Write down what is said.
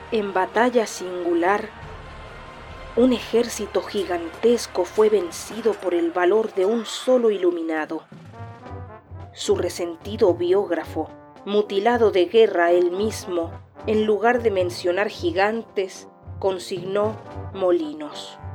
En batalla singular, un ejército gigantesco fue vencido por el valor de un solo iluminado. Su resentido biógrafo, mutilado de guerra él mismo, en lugar de mencionar gigantes, consignó molinos.